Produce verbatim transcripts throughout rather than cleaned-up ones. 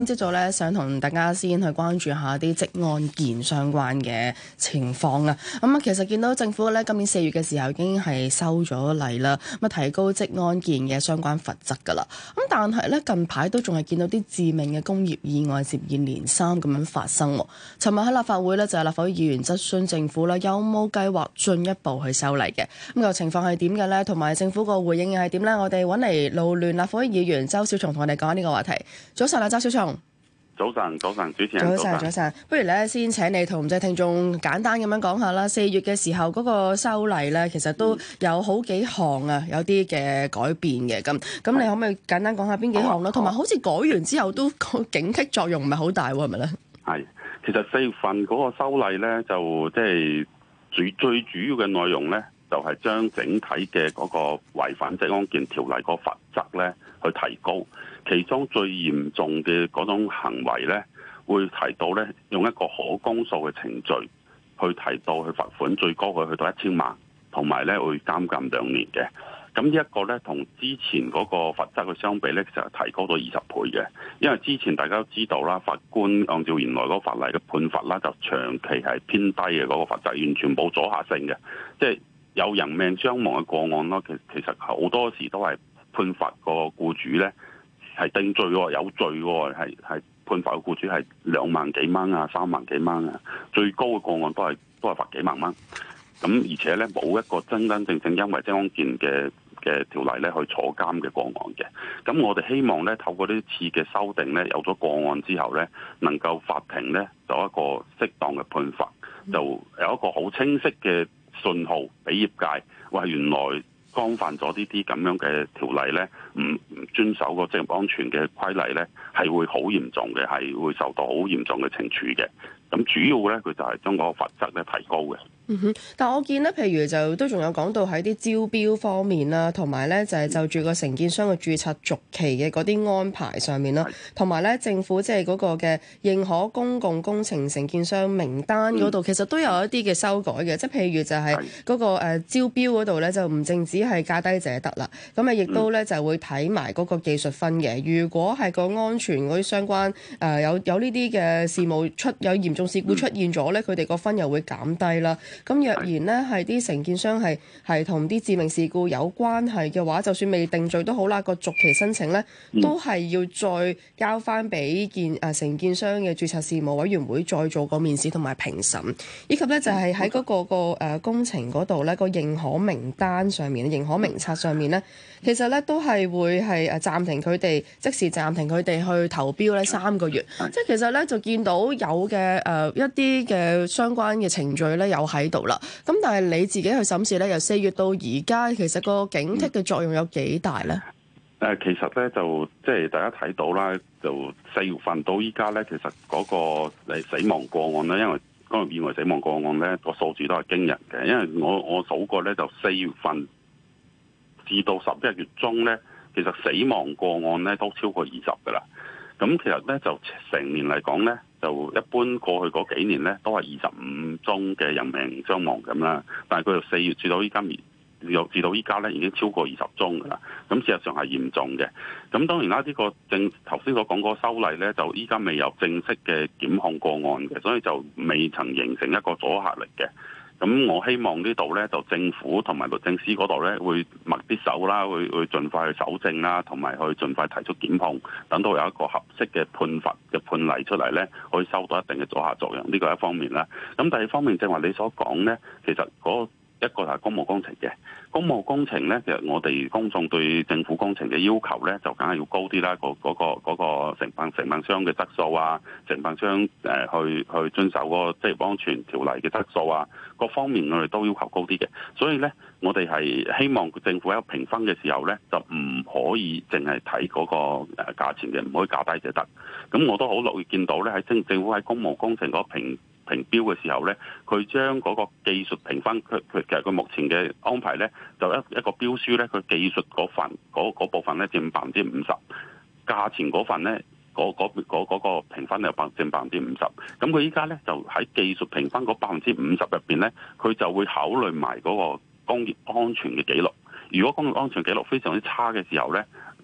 朝早咧，想同大家先去關注下啲職安健相關嘅情況啊。咁啊，其實見到政府咧今年四月嘅時候已經係收咗例啦，咁啊提高職安健嘅相關罰則噶啦。咁但係咧近排都仲係見到啲致命嘅工業意外接二連三咁樣發生。尋日喺立法會咧就係立法會議員質詢政府啦，有冇計劃進一步去修例嘅？咁個情況係點嘅咧？同埋政府個回應又係點咧？我哋揾嚟勞聯立法會議員周小松同我哋講呢個話題。早晨啊，周小松。 早晨，早晨，主持人。 早晨，早晨。不如咧，先請你同唔少聽眾簡單咁樣講下啦。四月嘅時候嗰個修例咧，其實都有好幾項啊，有啲嘅改變嘅。咁咁，你可唔可以簡單講下邊幾項啦？同埋好似改完之後都個警惕作用唔係好大喎，係咪咧？ 係，其實四月份嗰個修例咧，就即係最最主要嘅內容咧，就係將整體嘅嗰個違反職安健條例個罰則咧去提高。其中最嚴重嘅嗰種行為咧，會提到咧用一個可公訴嘅程序去提到去罰款，最高去去到一千萬，同埋咧會監禁兩年嘅。咁呢一個咧同之前嗰個罰則去相比咧，其實係提高到二十倍嘅。因為之前大家都知道啦，法官按照原來嗰個法例嘅判罰啦，就長期係偏低嘅，嗰個罰則完全冇阻嚇性嘅，即係有人命傷亡嘅個案咯。其其實好多時都係判罰個僱主咧。係定罪喎，有罪喎，係係判罰嘅僱主係兩萬幾蚊啊，三萬幾蚊啊，最高嘅個案都係都係罰幾萬蚊。咁而且咧冇一個真真正正因為職安健嘅嘅條例咧去坐監嘅個案嘅。咁我哋希望咧透過呢次嘅修訂咧，有咗個案之後咧，能夠法庭咧有一個適當嘅判罰，就有一個好清晰嘅信號俾業界，話原來干犯咗呢啲咁樣嘅條例咧，唔唔遵守個職業安全嘅規例咧，係會好嚴重嘅，係會受到好嚴重嘅懲處嘅。咁主要咧，佢就係將個罰則咧提高嘅。 嗯哼，但係我見咧，譬如就都仲有講到喺啲招標方面啦，同埋咧就係就住個承建商嘅註冊續期嘅嗰啲安排上面啦，同埋咧政府即係嗰個嘅認可公共工程承建商名單嗰度，嗯、其實都有一啲嘅修改嘅，即係譬如就係嗰個誒招標嗰度咧，就唔淨止係價低者得啦，咁啊亦都咧就會睇埋嗰個技術分嘅。如果係個安全嗰啲相關誒、呃、有有呢啲嘅事務出有嚴重事故出現咗咧，佢哋個分又會減低啦。咁若然咧係啲承建商係係同啲致命事故有關係嘅話，就算未定罪都好啦，個續期申請咧都係要再交翻俾建誒承建商嘅註冊事務委員會再做個面試同埋評審，以及咧就係喺嗰個個誒工程嗰度咧個認可名單上面、認可名冊上面咧，其實咧都係會係誒暫停佢哋即時暫停佢哋去投標咧三個月，即係其實咧就見到有嘅誒一啲嘅相關嘅程序咧有喺度啦。咁但係你自己去審視咧，由四月到而家，其實個警惕嘅作用有幾大咧？ 誒，其實咧就即係大家睇到啦，就四月份到依家咧，其實嗰個誒死亡個案咧，因為工業意外死亡個案咧個數字都係驚人嘅，因為我我數過咧，就四月份至到十一月中咧，其實死亡個案咧都超過二十噶啦。咁其實咧就成年嚟講咧，就一般過去嗰幾年咧都係二十五宗嘅人命傷亡咁啦。但係佢由四月至到依家，至到依家咧已經超過二十宗噶啦。咁事實上係嚴重嘅。咁當然啦，呢、這個正頭先所講嗰個修例咧，就依家未有正式嘅檢控個案嘅，所以就未曾形成一個阻嚇力嘅。咁我希望呢度咧，就政府同埋律政司嗰度咧，會密啲手啦，會會盡快去搜證啦，同埋去盡快提出檢控，等到有一個合適嘅判罰嘅判例出嚟咧，可以收到一定嘅阻嚇作用。呢個係一方面啦。咁第二方面，正話你所講咧，其實嗰、那個一個係公務工程嘅，公務工程咧，其實我哋公眾對政府工程嘅要求咧，就梗係要高啲啦。嗰、嗰個嗰、嗰個承辦承辦商嘅質素啊，承辦商誒、呃、去去遵守嗰個職業安全條例嘅質素啊，各方面我哋都要求高啲嘅。所以咧，我哋係希望政府喺評分嘅時候咧，就唔可以淨係睇嗰個誒價錢嘅，唔可以價低就得。咁我都好樂意見到咧，喺政政府喺公務工程嗰個評評標嘅時候咧，佢將嗰個技術評分，佢佢其實佢目前嘅安排咧，就一一個標書咧，佢技術嗰份嗰嗰部分咧佔百分之五十，價錢嗰份咧嗰嗰嗰嗰個評分又百佔百分之五十。咁佢依家咧就喺技術評分嗰百分之五十入邊咧，佢就會考慮埋嗰個工業安全嘅記錄。如果工業安全記錄非常之差嘅時候咧，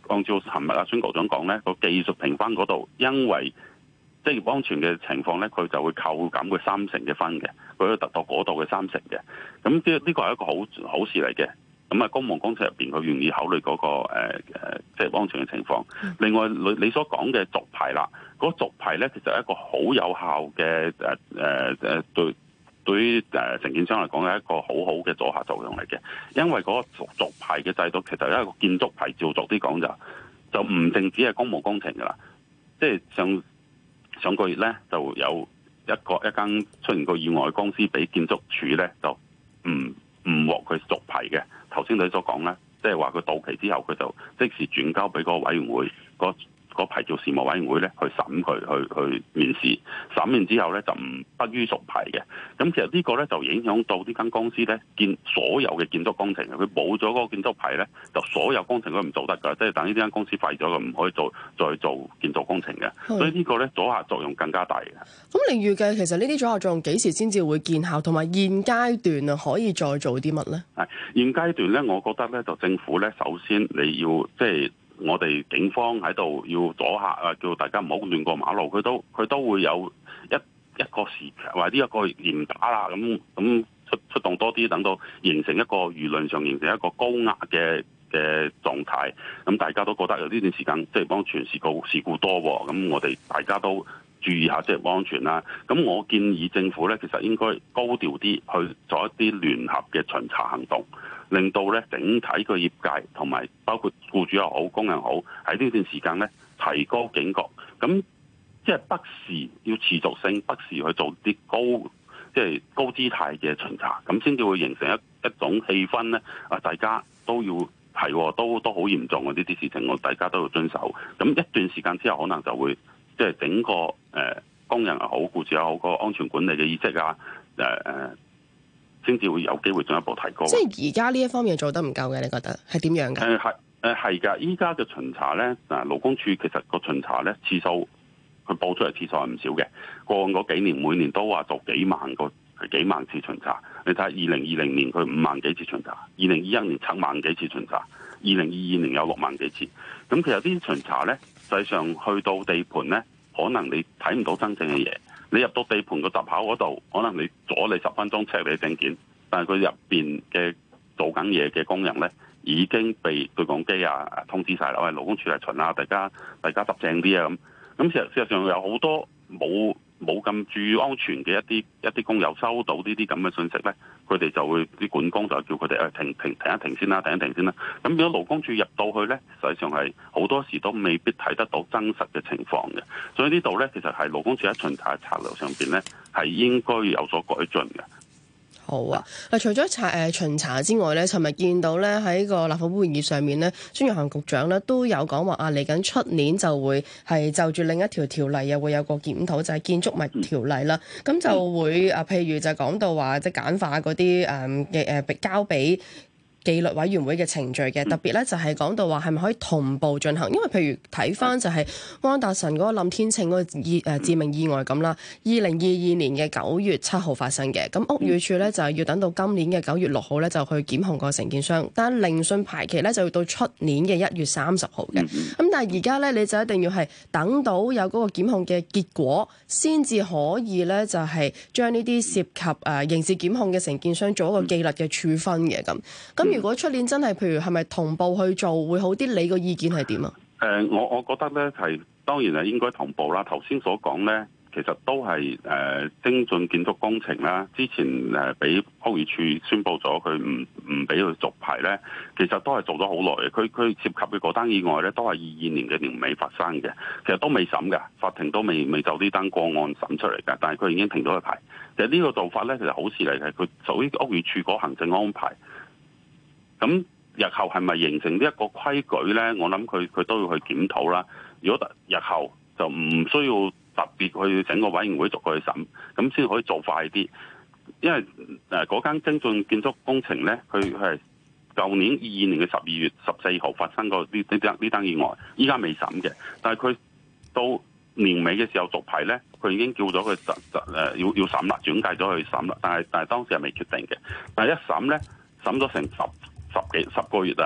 按照尋日阿孫局長講咧，個技術評分嗰度，因為職業安全嘅情況咧，佢就會扣減佢三成嘅分嘅，佢會達到嗰度嘅三成嘅。咁呢呢個係一個好好事嚟嘅。咁啊，公務工程入邊佢願意考慮嗰、那個誒誒職業安全嘅情況。另外，你你所講嘅續牌啦，嗰、那個、續牌咧其實係一個好有效嘅誒誒誒對。對於誒承建商嚟講係一個好好嘅阻嚇作用嚟嘅，因為嗰個續續牌嘅制度其實係一個建築牌照，逐啲講就就唔淨止係公務工程㗎啦。即係上上個月咧就有一個一間出現過意外嘅公司俾建築署咧就唔唔獲佢續牌嘅。頭先你所講咧，即係話佢到期之後佢就即時轉交俾嗰個委員會嗰。個牌照事務委員會咧去審佢，去去面試，審完之後咧就唔不予續牌嘅。咁其實呢個咧就影響到呢間公司咧建所有嘅建築工程，佢冇咗嗰個建築牌咧，就所有工程都唔做得㗎，即係等呢間公司廢咗，佢唔可以做再做建築工程嘅。所以呢個咧阻嚇作用更加大嘅。 咁你預計其實呢啲阻嚇作用幾時先至會見效，同埋現階段啊可以再做啲乜咧？ 係現階段咧，我覺得咧就政府咧首先你要即係。我哋警方喺度要阻嚇啊，叫大家唔好亂過馬路。佢都佢都會有一一個時期或者一個嚴打啦，咁咁出出動多啲，等到形成一個輿論上形成一個高壓嘅嘅狀態。咁大家都覺得有呢段時間即係安全事故事故多喎，咁我哋大家都注意下即係安全啦。咁我建議政府咧，其實應該高調啲去做一啲聯合嘅巡查行動。令到咧整體個業界同埋包括僱主又好、工人好，喺呢段時間咧提高警覺，咁即係不時要持續性，不時去做啲高即係高姿態嘅巡查，咁先至會形成一一種氣氛咧。啊，大家都要係都都好嚴重嘅呢啲事情，我大家都要遵守。咁一段時間之後，可能就會即係整個誒、呃、工人又好、僱主又好，個安全管理嘅意識啊，誒、呃、誒。先至會有機會進一步提高。 即係而家呢一方面做得唔夠嘅，你覺得係點樣嘅？ 誒係誒係㗎，依家嘅巡查咧，嗱勞工處其實個巡查咧次數，佢報出嚟次數係唔少嘅。過往嗰幾年每年都話做幾萬個幾萬次巡查。你睇下二零二零年佢五萬幾次巡查，二零二一年七萬幾次巡查，二零二二年有六萬幾次。咁其實呢啲巡查咧，實際上去到地盤咧，可能你睇唔到真正嘅嘢。你入到地盤個閘口嗰度，可能你阻你十分鐘 check 你嘅證件，但係佢入邊嘅做緊嘢嘅工人咧，已經被對講機啊通知晒啦，喂勞工處嚟巡啊，大家大家執正啲啊咁。咁事實事實上有好多冇冇咁注意安全嘅一啲一啲工友收到呢啲咁嘅信息咧，佢哋就會啲管工就叫佢哋誒停停停一停先啦，停一停先啦。咁如果勞工處入到去咧，實際上係好多時都未必睇得到真實嘅情況嘅。所以呢度咧，其實係勞工處喺巡查策略上邊咧，係應該有所改進嘅。 好啊！嗱，除咗查誒巡查之外咧，尋日見到咧喺個立法會會議上面咧，孫玉菡局長咧都有講話啊，嚟緊出年就會係就住另一條條例又會有個檢討，就係、是、建築物條例啦。咁、嗯、就會啊，譬如就講到話即係簡化嗰啲誒嘅誒交俾紀律委員會嘅程序嘅，特別咧就係講到話係咪可以同步進行？因為譬如睇翻就係安達臣嗰個冧天秤嗰個意誒致命意外咁啦，二零二二年嘅九月七號發生嘅，咁屋宇署咧就係要等到今年嘅九月六號咧就去檢控個承建商，但係聆訊排期咧就要到出年嘅一月三十號嘅。咁但係而家咧你就一定要係等到有嗰個檢控嘅結果，先至可以咧就係將呢啲涉及誒刑事檢控嘅承建商做一個紀律嘅處分嘅咁。咁如果出年真係，譬如係咪同步去做會好啲？你個意見係點啊？ 誒、呃，我我覺得咧係當然係應該同步啦。頭先所講咧，其實都係誒、呃、精進建築工程啦。之前誒俾屋宇署宣布咗佢唔唔俾佢續牌咧，其實都係做咗好耐嘅。佢佢涉及嘅嗰單意外咧，都係二二年嘅年尾發生嘅。其實都未審嘅，法庭都未未就呢單個案審出嚟嘅。但係佢已經停咗佢牌。其實呢個做法咧，其實好事嚟嘅。佢屬於屋宇署嗰行政安排。咁日後係咪形成呢一個規矩咧？我諗佢佢都要去檢討啦。如果日後就唔需要特別去整個委員會逐個去審，咁先可以做快啲。因為誒嗰間精進建築工程咧，佢係舊年二二年嘅十二月十四號發生過呢呢單呢單意外，依家未審嘅。但係佢到年尾嘅時候續牌咧，佢已經叫咗佢實實誒要要審啦，轉介咗去審啦。但係但係當時係未決定嘅。但係一審咧，審咗成十。十幾十個月啊，到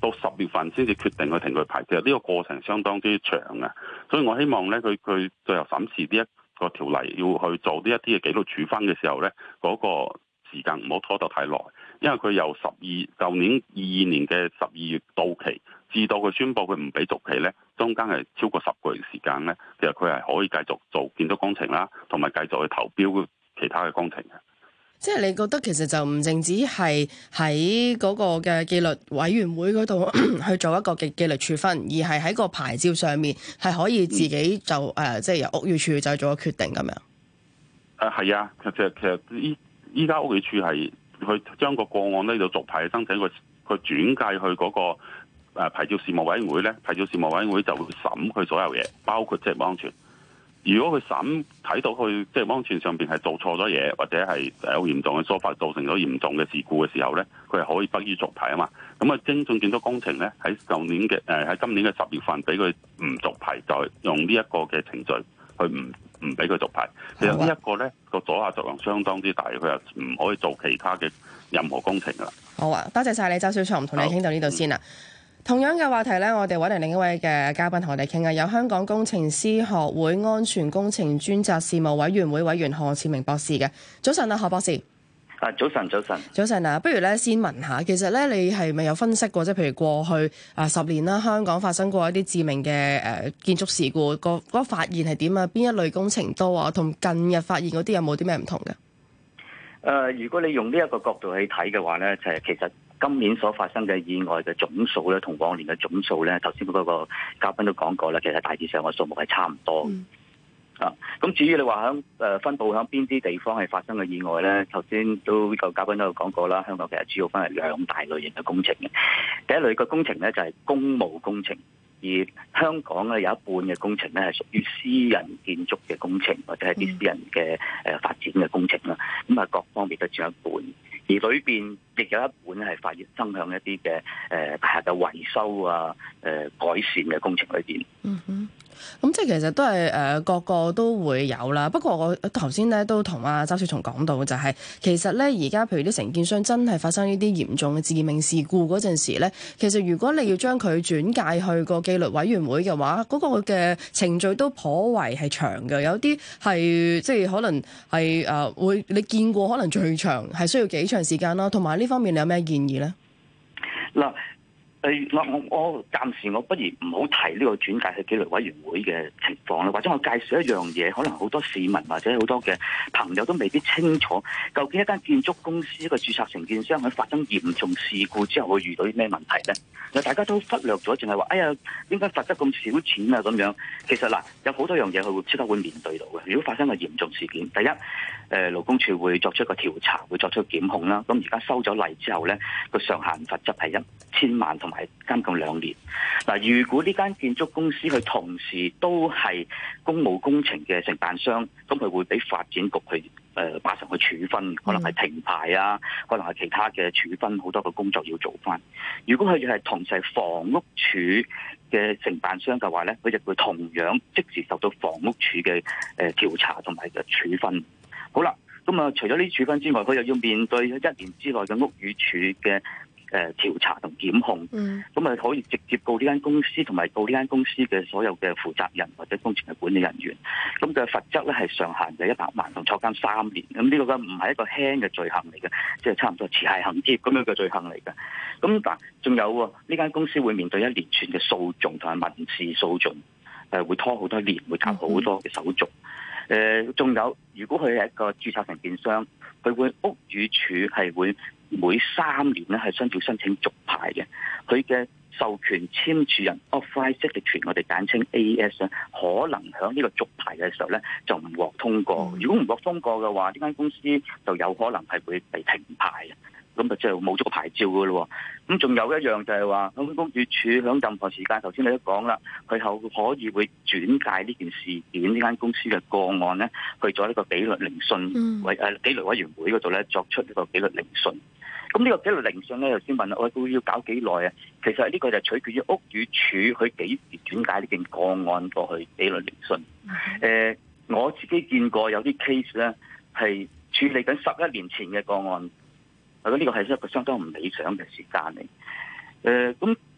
到十月份先至決定去停佢牌，其實呢個過程相當之長嘅。所以我希望咧，佢佢最後審視呢一個條例要去做呢一啲嘅紀律處分嘅時候咧，嗰、那個時間唔好拖得太耐，因為佢由十二舊年二二年嘅十二月到期，至到佢宣布佢唔俾續期咧，中間係超過十個月時間咧，其實佢係可以繼續做建築工程啦，同埋繼續去投標其他嘅工程嘅。 即係你覺得其實就唔淨止係喺嗰個嘅紀律委員會嗰度去做一個嘅紀律處分，而係喺個牌照上面係可以自己就誒、嗯呃，即係由屋宇署就做個決定咁樣。 誒係啊，其實其實依依家屋宇署係去將個個案呢度續牌申請，佢佢轉介去嗰個誒牌照事務委員會咧，牌照事務委員會就會審佢所有嘢，包括職業安全。如果佢審睇到佢即係安全上邊係做錯咗嘢，或者係有嚴重嘅疏忽造成咗嚴重嘅事故嘅時候咧，佢係可以不予續牌啊嘛。咁啊，精進建築工程咧喺舊年嘅誒喺今年嘅十月份俾佢唔續牌，就係用呢一個嘅程序去唔唔俾佢續牌。其實呢一個咧個阻嚇作用相當之大，佢又唔可以做其他嘅任何工程噶啦。 好啊，多謝晒你，周小松，同你傾到呢度先啦。同樣嘅話題呢，我哋揾嚟另一位嘅嘉賓同我哋傾啊，有香港工程師學會安全工程專責事務委員會委員何賜明博士嘅。早晨啊，何博士。 啊，早晨，早晨。 早晨啊，不如咧先問下，其實咧你係咪有分析過，即係譬如過去啊十年啦，香港發生過一啲致命嘅誒建築事故，個嗰個發現係點啊？邊一類工程多啊？同近日發現嗰啲有冇啲咩唔同嘅？誒、 呃，如果你用呢一個角度去睇嘅話咧，就係、是、其實今年所發生嘅意外嘅總數咧，同往年嘅總數咧，頭先嗰個嘉賓都講過啦，其實大致上個數目係差唔多。嗯、啊，咁至於你話響誒分佈響邊啲地方係發生嘅意外咧，頭先都呢個嘉賓都有講過啦。香港其實主要分係兩大類型嘅工程嘅，第一類嘅工程咧就係公務工程。而香港咧有一半嘅工程咧係屬於私人建築嘅工程，或者係啲私人嘅誒發展嘅工程啦。咁啊，各方面都佔一半，而裏邊亦有一半係發生響一啲嘅誒大廈嘅維修啊、誒、呃、改善嘅工程裏邊。 嗯哼。咁即係其實都係誒、呃、個個都會有啦。不過我頭先咧都同阿周小松講到，就係、是、其實咧而家譬如啲承建商真係發生呢啲嚴重嘅致命事故嗰陣時咧，其實如果你要將佢轉介去個紀律委員會嘅話，嗰、那個嘅程序都頗為係長嘅。有啲係即係可能係誒、呃、會你見過可能最長係需要幾長時間啦。同埋呢方面你有咩建議咧？ 嗱。我我我暫時我不如唔好提呢個轉介去紀律委員會嘅情況啦，或者我介紹一樣嘢，可能好多市民或者好多嘅朋友都未必清楚，究竟一間建築公司一個註冊承建商喺發生嚴重事故之後會遇到啲咩問題咧？嗱，大家都忽略咗，淨係話哎呀，點解罰得咁少錢啊？咁樣其實嗱，有好多樣嘢佢會即刻會面對到嘅。如果發生個嚴重事件，第一，誒勞工處會作出一個調查，會作出檢控啦。咁而家收咗例之後咧，個上限罰則係一千萬同埋監禁兩年。嗱，如果呢間建築公司佢同時都係公務工程嘅承辦商，咁佢會俾發展局去誒馬上去處分，可能係停牌啊，可能係其他嘅處分，好多嘅工作要做翻。如果佢係同時係房屋署嘅承辦商嘅話咧，佢就會同樣即時受到房屋署嘅誒調查同埋嘅處分。好啦，咁啊，除咗呢啲處分之外，佢又要面對一年之內嘅屋宇署嘅誒調查同檢控，咁啊、嗯、可以直接告呢間公司，同埋告呢間公司嘅所有嘅負責人或者工程嘅管理人員。咁嘅罰則咧係上限嘅一百萬同坐監三年。咁呢個嘅唔係一個輕嘅罪行嚟嘅，即係差唔多持械行劫咁樣嘅罪行嚟嘅。咁嗱，仲有喎，呢間公司會面對一連串嘅訴訟同埋民事訴訟，誒會拖好多年，會搞好多嘅手續。誒，仲、呃、有，如果佢係一個註冊承建商，佢會屋宇署係會每三年咧係需要申請續牌嘅。佢嘅授權簽署人 authorized signature，我哋簡稱 A S 咧，可能喺呢個續牌嘅時候咧就唔獲通過。如果唔獲通過嘅話，呢間公司就有可能係會被停牌。咁啊，即係冇咗個牌照噶咯。咁仲有一樣就係話，咁屋宇署響任何時間，頭先你都講啦，佢後可以會轉介呢件事件呢間公司嘅個案咧，去咗呢個紀律聆訊委誒紀律委員會嗰度咧，作出呢個紀律聆訊。咁呢個紀律聆訊咧，頭先問啦，我會要搞幾耐啊？其實呢個就取決於屋宇署佢幾時轉介呢件個案過去紀律聆訊。誒、呃，我自己見過有啲 case 咧係處理緊十一年前嘅個案。呢個係一個相當唔理想嘅時間嚟。誒、呃，咁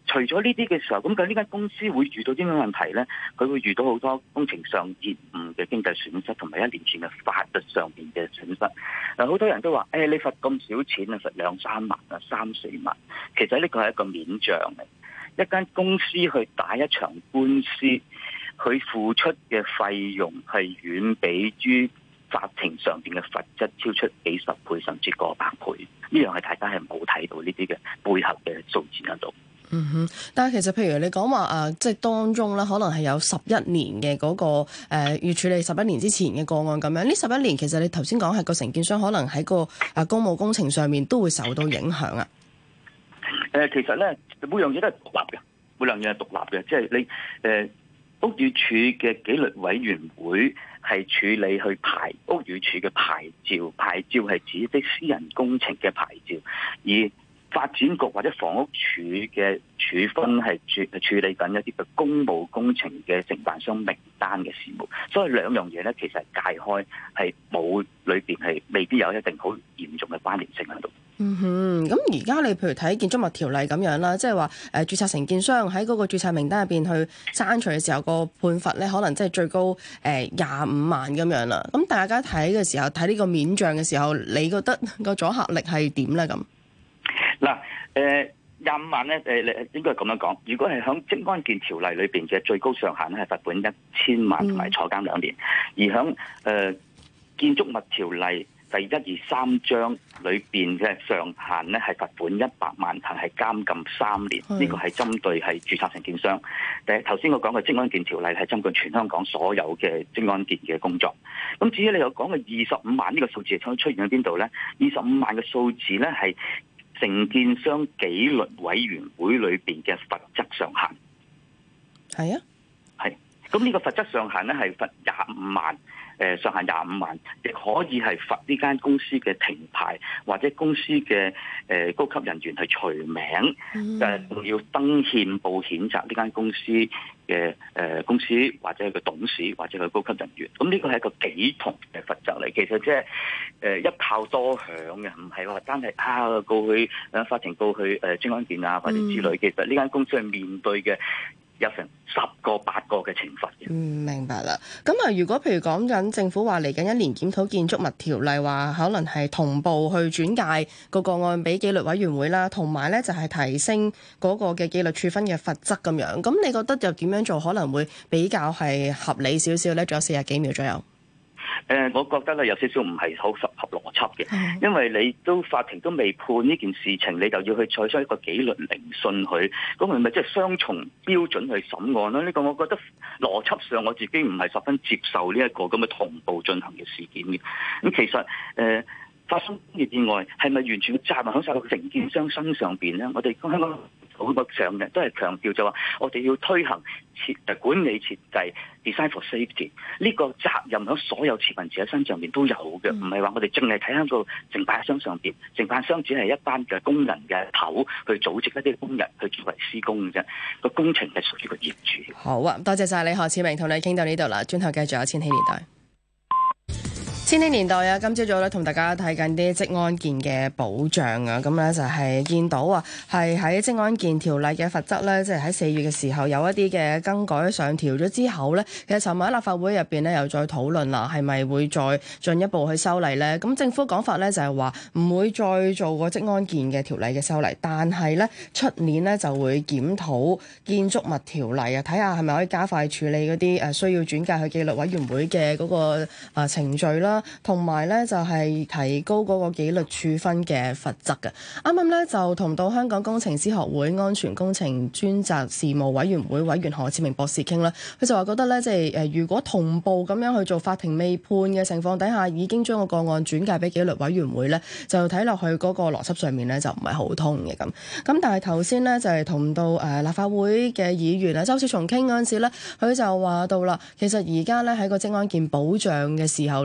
除咗呢啲嘅時候，咁究竟呢間公司會遇到啲咩問題咧？佢會遇到好多工程上延誤嘅經濟損失，同埋一連串嘅法律上邊嘅損失。嗱，好多人都話，誒、哎，你罰咁少錢啊，罰兩三萬啊，三四萬。其實呢個係一個面障嚟。一間公司去打一場官司，佢付出嘅費用係遠比於法庭上邊嘅罰則超出幾十倍甚至過百倍。呢樣係大家係冇睇到呢啲嘅背後嘅數字喺度。 嗯哼，但係其實譬如你講話啊，即係當中咧，可能係有十一年嘅嗰、那個誒、呃，要處理十一年之前嘅個案咁樣。呢十一年其實你頭先講係個承建商可能喺個啊公務工程上面都會受到影響啊。 誒、呃，其實咧每樣嘢都係獨立嘅，每樣嘢係獨立嘅，即係你誒、呃、屋宇署嘅紀律委員會係處理去排屋宇署嘅牌照，牌照係指啲私人工程嘅牌照，而發展局或者房屋署嘅處分係處處理緊一啲嘅公務工程嘅承辦商名單嘅事務，所以兩樣嘢咧其實係界開，係冇裏邊係未必有一定好嚴重嘅關聯性喺度。 嗯哼，咁而家你譬如睇建築物條例咁樣啦，即係話誒註冊承建商喺嗰個註冊名單入邊去刪除嘅時候，個判罰咧可能即係最高誒廿五萬咁樣啦。咁大家睇嘅時候睇呢個面障嘅時候，你覺得個阻嚇力係點咧？咁？ 嗱，誒廿五萬咧，誒你應該係咁樣講。如果係響職安健條例裏邊嘅最高上限咧，係罰款一千萬同埋坐監兩年；而響誒、呃、建築物條例第一二三章裏邊嘅上限咧，係罰款一百萬同係監禁三年。呢、這個係針對係註冊承建商。誒頭先我講嘅職安健條例係針對全香港所有嘅職安健嘅工作。咁至於你又講嘅二十五萬呢個數字係出現喺邊度咧？二十五萬嘅數字咧係承建商紀律委員會裏邊嘅罰則上限。 係啊， 係。咁呢個罰則上限咧係罰廿五萬，誒、呃、上限廿五萬，亦可以係罰呢間公司嘅停牌，或者公司嘅誒、呃、高級人員去除名，誒、嗯、仲要登憲報譴責呢間公司嘅誒、呃、公司或者係個董事或者係高級人員。咁呢個係一個幾重嘅罰則嚟，其實即係誒一炮多響嘅，唔係話單係啊告去誒法庭告去誒職安健啊或者之類。嗯、其實呢間公司係面對嘅有成十個八個嘅懲罰嘅。嗯， 明白啦。咁啊，如果譬如講緊政府話嚟緊一年檢討建築物條例，話可能係同步去轉介個個案俾紀律委員會啦，同埋咧就係提升嗰個嘅紀律處分嘅罰則咁樣。咁你覺得又點樣做可能會比較係合理少少咧？仲有四十幾秒左右。 誒、呃，我覺得咧有少少唔係好合合邏輯嘅，因為你都法庭都未判呢件事情，你就要去採取一個紀律聆訊佢，咁係咪即係雙重標準去審案咧？呢、這個我覺得邏輯上我自己唔係十分接受呢一個咁嘅同步進行嘅事件嘅。咁其實誒、呃、發生工業意外係咪完全嘅責任喺晒個承建商身上邊咧？我哋香港好多上嘅都係強調就話，我哋要推行設誒管理設計 design for safety 呢個責任喺所有持份者身上邊都有嘅，唔係話我哋淨係睇喺個承辦商上邊，承辦商只係一班嘅工人嘅頭去組織一啲工人去作為施工嘅啫，個工程係屬於個業主。 好啊，多謝晒你何賜明，同你傾到呢度啦，轉頭繼續有千禧年代。千禧年代啊，今朝早咧同大家睇緊啲職安健嘅保障啊，咁咧就係見到啊，係喺職安健條例嘅罰則咧，即係喺四月嘅時候有一啲嘅更改上調咗之後咧，其實尋日喺立法會入邊咧又再討論啦，係咪會再進一步去修例咧？咁政府講法咧就係話唔會再做個職安健嘅條例嘅修例，但係咧出年咧就會檢討建築物條例啊，睇下係咪可以加快處理嗰啲誒需要轉介去紀律委員會嘅嗰個啊程序啦。同埋咧就係提高嗰個紀律處分嘅罰則嘅。啱啱咧就同到香港工程師學會安全工程專責事務委員會委員何賜明博士傾啦，佢就話覺得咧即係誒如果同步咁樣去做，法庭未判嘅情況底下，已經將個個案轉介俾紀律委員會咧，就睇落去嗰個邏輯上面咧就唔係好通嘅咁。咁但係頭先咧就係同到誒立法會嘅議員啊周小松傾嗰陣時咧，佢就話到啦，其實而家咧喺個職安健保障嘅時候咧，政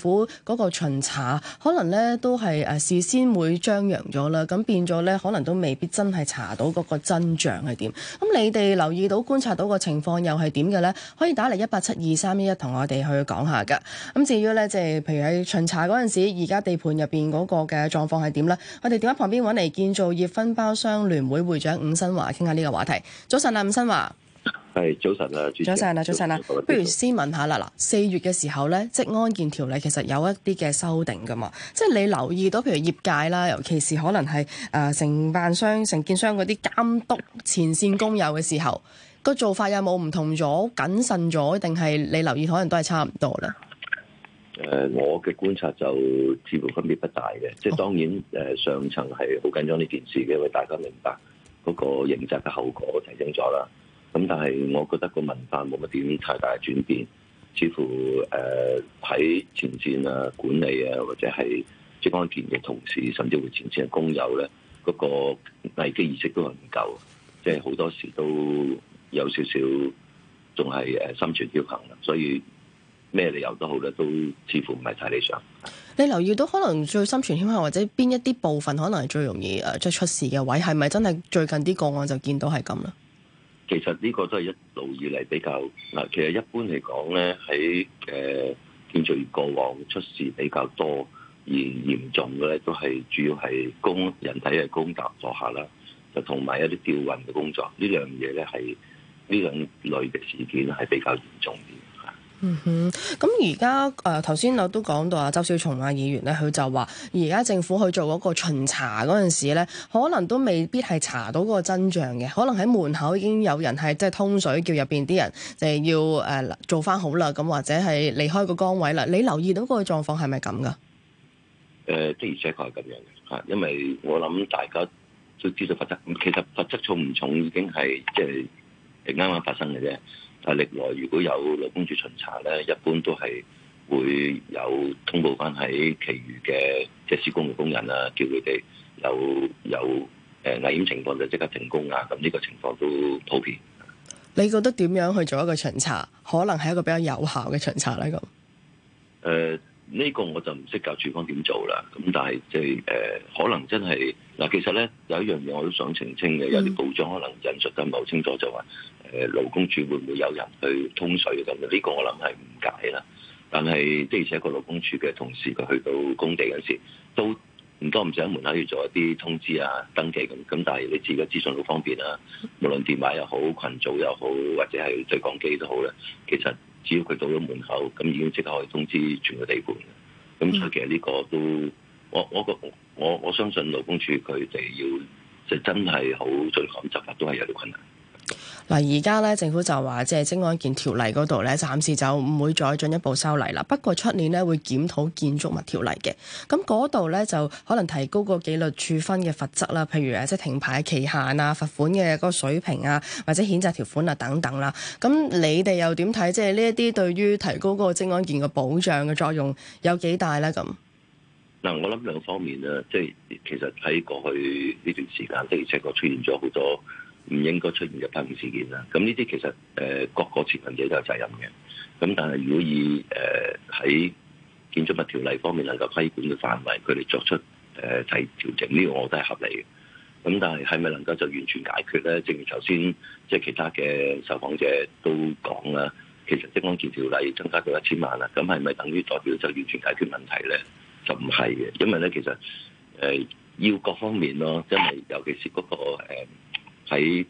府嗰個巡查可能咧都係誒事先會張揚咗啦，咁變咗咧可能都未必真係查到嗰個真相係點。咁你哋留意到觀察到個情況又係點嘅咧？可以打嚟一八七二三一一同我哋去講下㗎。咁至於咧即係譬如喺巡查嗰陣時，而家地盤入邊嗰個嘅狀況係點咧？我哋電話旁邊揾嚟建造業分包商聯會會長伍新華傾下呢個話題。早晨啊，伍新華。 係早晨啊， 早晨啊，早晨啊，不如先問下啦。嗱，四月嘅時候咧，職安健條例其實有一啲嘅修訂噶嘛，即係你留意到，譬如業界啦，尤其是可能係誒承辦商、承建商嗰啲監督前線工友嘅時候，個做法有冇唔同咗、謹慎咗，定係你留意可能都係差唔多咧？ 誒、呃，我嘅觀察就似乎分別不大嘅，即係當然誒、呃、上層係好緊張呢件事嘅，因為大家明白嗰個刑責嘅後果提升咗啦。咁但係我覺得個文化冇乜點太大嘅轉變，似乎誒喺、呃、前線啊、管理啊，或者係職安健嘅同事，甚至乎前線嘅工友咧，嗰、那個危機意識都係唔夠，即係好多時都有少少仲係誒心存僥倖啦，所以咩理由都好咧，都似乎唔係太理想。 你留意到可能最心存僥倖，或者邊一啲部分可能係最容易誒即係出事嘅位，係咪真係最近啲個案就見到係咁啦？ 其實呢個都係一路以嚟比較嗱，其實一般嚟講咧，喺誒建造業過往出事比較多而嚴重嘅咧，都係主要係工人體嘅工作坐下啦，就同埋一啲吊運嘅工作，呢兩樣嘢咧係呢兩類嘅事件係比較嚴重啲。 嗯哼，咁而家誒頭先我都講到啊，周小松啊議員咧，佢就話而家政府去做嗰個巡查嗰陣時咧，可能都未必係查到嗰個真相嘅，可能喺門口已經有人係即係通水，叫入邊啲人就係要誒、呃、做翻好啦，咁或者係離開個崗位啦。你留意到嗰個狀況係咪咁噶？誒、 呃，的而且確係咁樣嘅嚇，因為我諗大家都知道罰則，其實罰則重唔重已經係即係啱啱發生嘅啫。但係歷來如果有勞工處巡查咧，一般都係會有通報翻喺其餘嘅即係施工嘅工人啦，叫佢哋有有誒危險情況就即刻停工啊！咁呢個情況都普遍。 你覺得點樣去做一個巡查，可能係一個比較有效嘅巡查咧？咁誒呢個我就唔識教處方點做啦。咁但係即係誒，可能真係嗱，其實咧有一樣嘢我都想澄清嘅，有啲報章可能引述得唔係好清楚，就話。誒勞工處會唔會有人去通水咁？呢、這個我諗係誤解啦。但係即係而且個勞工處嘅同事佢去到工地嗰時，都唔多唔少喺門口要做一啲通知啊、登記咁。咁但係你自己資訊好方便啦，無論電話又好、群組又好，或者係對講機都好咧。其實只要佢到咗門口，咁已經即刻可以通知全個地盤。咁所以其實呢個都我我個我我相信勞工處佢哋要就真係好準確執法，都係有啲困難。 嗱，而家咧政府就話，即係職安健條例嗰度咧，暫時就唔會再進一步修例啦。不過出年咧會檢討建築物條例嘅，咁嗰度咧就可能提高個紀律處分嘅罰則啦，譬如誒即係停牌期限啊、罰款嘅嗰個水平啊，或者譴責條款啊等等啦。咁你哋又點睇？即係呢一啲對於提高嗰個職安健嘅保障嘅作用有幾大咧？咁嗱，我諗兩方面啦，即係其實喺過去呢段時間的而且確出現咗好多唔應該出現嘅批評事件啦，咁呢啲其實誒、呃、各個持份者都有責任嘅。咁但係如果以誒喺、呃、建築物條例方面能夠規管嘅範圍，佢哋作出誒提調整，呢、這個我覺得係合理嘅。咁但係係咪能夠就完全解決咧？正如頭先即係其他嘅受訪者都講啦，其實職安健條例增加到一千萬啦，咁係咪等於代表就完全解決問題咧？就唔係嘅，因為咧其實誒、呃、要各方面咯，真係尤其是嗰、那個、呃喺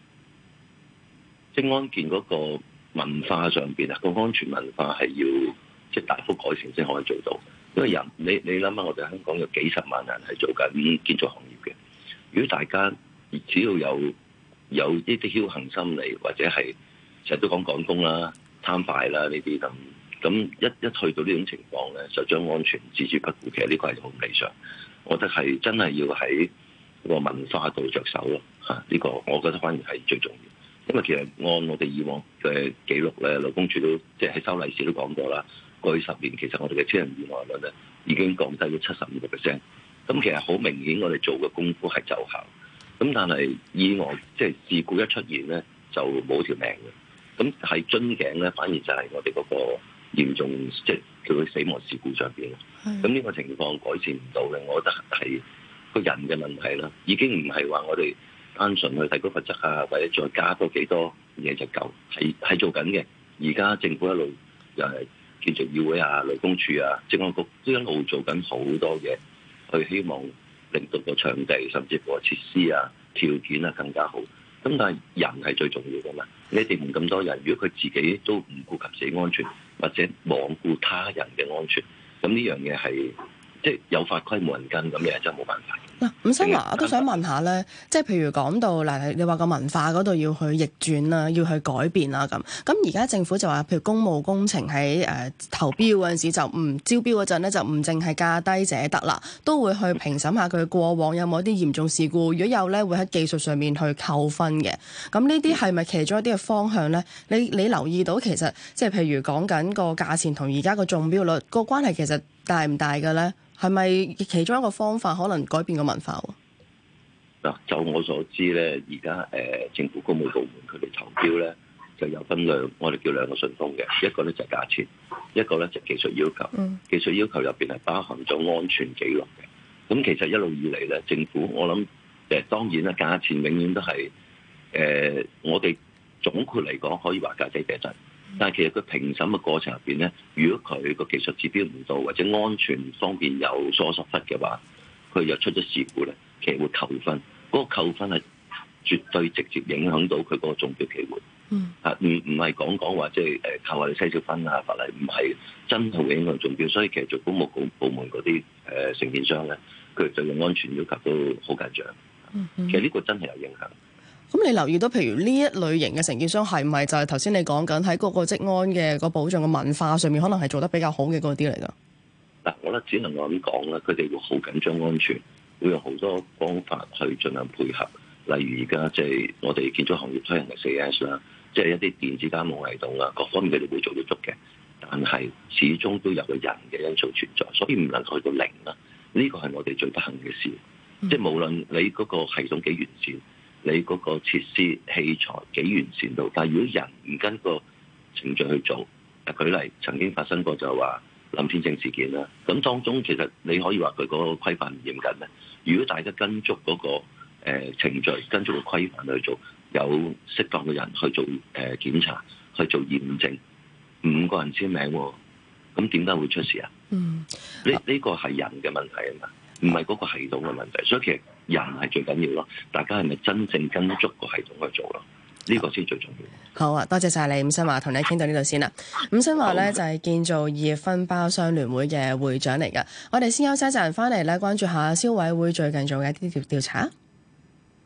職安健嗰個文化上邊啊，個安全文化係要即係大幅改善先可以做到。因為人你你諗下，我哋香港有幾十萬人係做緊建築行業嘅。如果大家只要有有呢啲僥倖心理，或者係成日都講趕工啦、貪快啦呢啲咁，咁一一去到呢種情況咧，就將安全置之不顧。其實呢個係好唔理想。我覺得係真係要喺個文化度着手咯，嚇、這、呢個我覺得反而係最重要，因為其實按我哋以往嘅記錄咧，勞工處都即係喺修例時都講過啦，過去十年其實我哋嘅車人意外率咧已經降低咗七十五個 percent，咁其實好明顯我哋做嘅功夫係奏效，咁但係意外即係事故一出現咧就冇條命嘅，咁係樽頸咧反而就係我哋嗰個嚴重即係佢死亡事故上邊。咁呢係個情況改善唔到嘅，我覺得係個人嘅問題啦，已經唔係話我哋單純去提高罰則啊，或者再加多幾多嘢就夠，係係做緊嘅。而家政府一路又係建造議會啊、勞工處啊、政安局都一路做緊好多嘢，去希望令到個場地甚至乎個設施啊、條件啊更加好。咁但係人係最重要㗎嘛，你哋唔咁多人，如果佢自己都唔顧及自己安全，或者罔顧他人嘅安全，咁呢樣嘢係即係有法規冇人跟，咁嘢真係冇辦法。 嗱，伍新華，我都想問下咧，即係譬如講到嗱，你話個文化嗰度要去逆轉啦，要去改變啦咁。咁而家政府就話，譬如公務工程喺誒、呃、投標嗰陣時就唔招標嗰陣咧，就唔淨係價低者得啦，都會去評審下佢過往有冇啲嚴重事故，如果有咧，會喺技術上面去扣分嘅。咁呢啲係咪其中一啲嘅方向咧？你你留意到其實即係譬如講緊個價錢同而家個中標率個關係其實大唔大嘅咧？係咪其中一個方法可能改變個文化喎？ 嗱，就我所知咧，而家誒政府公務部門佢哋投標咧，就有分兩，我哋叫兩個順風嘅，一個咧就係價錢，一個咧就係技術要求。 嗯、 技術要求入邊係包含咗安全記錄嘅。咁其實一路以嚟咧，政府我諗誒、呃、當然啦，價錢永遠都係誒、呃、我哋總括嚟講可以話價低者得。但係其實佢評審嘅過程入邊咧，如果佢個技術指標唔到，或者安全方面有疏失嘅話，佢又出咗事故咧，其實會扣分。嗰、那個扣分係絕對直接影響到佢嗰個中標機會。 嗯， 啊，唔唔係講講話即係誒靠我哋篩少分啊法例，唔係真係會影響中標。所以其實做公務部部門嗰啲誒承建商咧，佢哋對嘅安全要求都好緊張。 嗯嗯、 其實呢個真係有影響。 咁你留意到，譬如呢一類型嘅承建商係唔係就係頭先你講緊喺嗰個職安嘅個保障嘅文化上面，可能係做得比較好嘅嗰啲嚟㗎？ 嗱，我覺得只能夠咁講啦，佢哋會好緊張安全，會用好多方法去盡量配合。例如而家即係我哋建築行業推行嘅四 S 啦，即係一啲電子監控系統啊，各方面佢哋會做到足嘅。但係始終都有個人嘅因素存在，所以唔能夠去到零啦。呢個係我哋最不幸嘅事。嗯、即係無論你嗰個系統幾完善，你嗰個設施器材幾完善到，但係如果人唔跟個程序去做，誒舉例曾經發生過就係話林天正事件啦，咁當中其實你可以話佢嗰個規範唔嚴謹咧。如果大家跟足嗰、嗰個、呃、程序，跟足個規範去做，有適當嘅人去做誒、呃、檢查，去做驗證，五個人簽名喎，咁點解會出事啊？嗯，呢呢、呢個係人嘅問題啊嘛，唔係嗰個系統嘅問題，所以其實人係最緊要咯。大家係咪真正跟足個系統去做咯？呢、呢個先最重要。 好啊，多謝晒你，伍新華，同你傾到呢度先啦。伍新華咧好就係建造業分包商聯會嘅會長嚟㗎。我哋先休息一陣，翻嚟咧關注下消委會最近做嘅一啲調調查。